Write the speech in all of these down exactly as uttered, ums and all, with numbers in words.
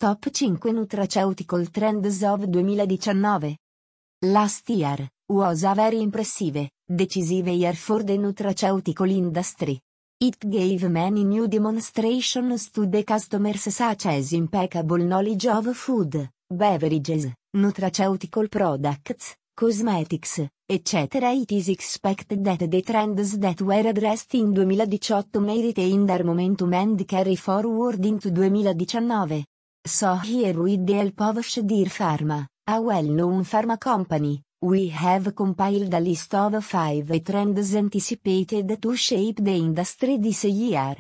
Top cinque Nutraceutical Trends of duemiladiciannove. Last year was a very impressive, decisive year for the nutraceutical industry. It gave many new demonstrations to the customers such as impeccable knowledge of food, beverages, nutraceutical products, cosmetics, et cetera. It is expected that the trends that were addressed in duemiladiciotto may retain their momentum and carry forward into duemiladiciannove. So here with the help of Shadir Pharma, a well-known pharma company, we have compiled a list of five trends anticipated to shape the industry this year.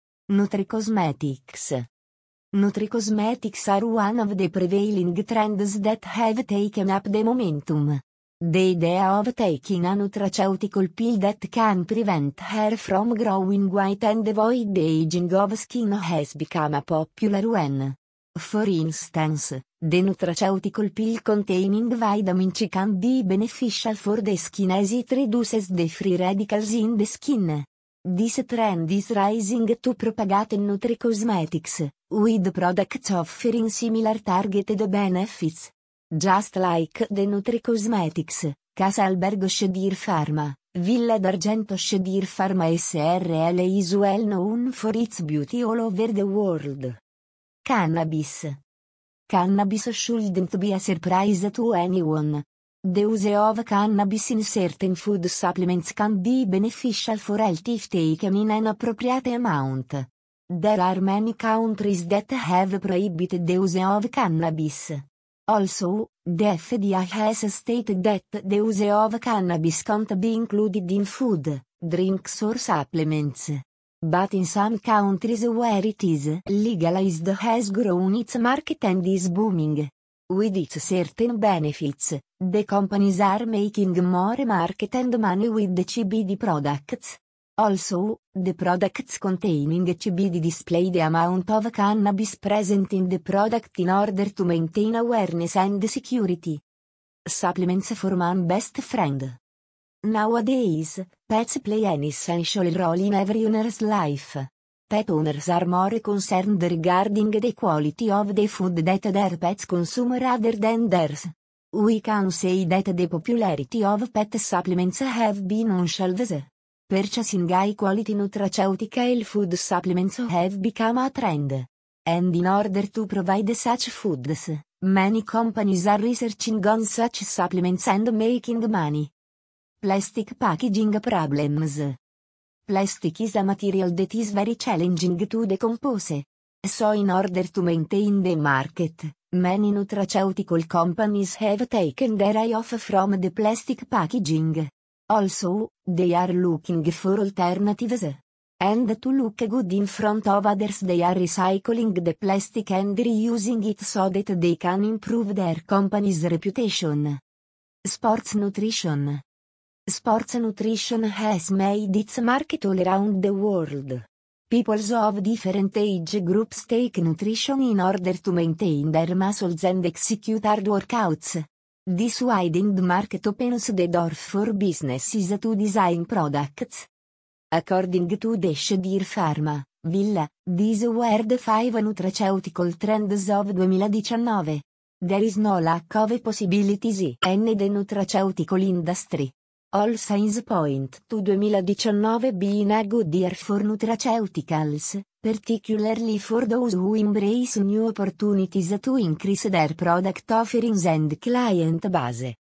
Nutricosmetics. Nutricosmetics are one of the prevailing trends that have taken up the momentum. The idea of taking a nutraceutical pill that can prevent hair from growing white and avoid the aging of skin has become a popular one. For instance, the nutraceutical pill containing vitamin C can be beneficial for the skin as it reduces the free radicals in the skin. This trend is rising to propagate nutricosmetics, with products offering similar targeted benefits. Just like the nutricosmetics, Casa Albergo Shadir Pharma, Villa d'Argento Shadir Pharma S R L is well known for its beauty all over the world. Cannabis. Cannabis shouldn't be a surprise to anyone. The use of cannabis in certain food supplements can be beneficial for health if taken in an appropriate amount. There are many countries that have prohibited the use of cannabis. Also, the F D A has stated that the use of cannabis can't be included in food, drinks or supplements. But in some countries where it is legalized has grown its market and is booming. With its certain benefits, the companies are making more market and money with the C B D products. Also, the products containing C B D display the amount of cannabis present in the product in order to maintain awareness and security. Supplements for man best friend. Nowadays, pets play an essential role in every owner's life. Pet owners are more concerned regarding the quality of the food that their pets consume rather than theirs. We can say that the popularity of pet supplements have been on shelves. Purchasing high-quality nutraceutical food supplements have become a trend. And in order to provide such foods, many companies are researching on such supplements and making money. Plastic packaging problems. Plastic is a material that is very challenging to decompose. So in order to maintain the market, many nutraceutical companies have taken their eye off from the plastic packaging. Also, they are looking for alternatives. And to look good in front of others they are recycling the plastic and reusing it so that they can improve their company's reputation. Sports nutrition. Sports nutrition has made its market all around the world. People of different age groups take nutrition in order to maintain their muscles and execute hard workouts. This widened market opens the door for businesses to design products. According to the Shadir Pharma, Villa, these were the five nutraceutical trends of duemiladiciannove. There is no lack of possibilities in the nutraceutical industry. All signs point to duemiladiciannove being a good year for nutraceuticals, particularly for those who embrace new opportunities to increase their product offerings and client base.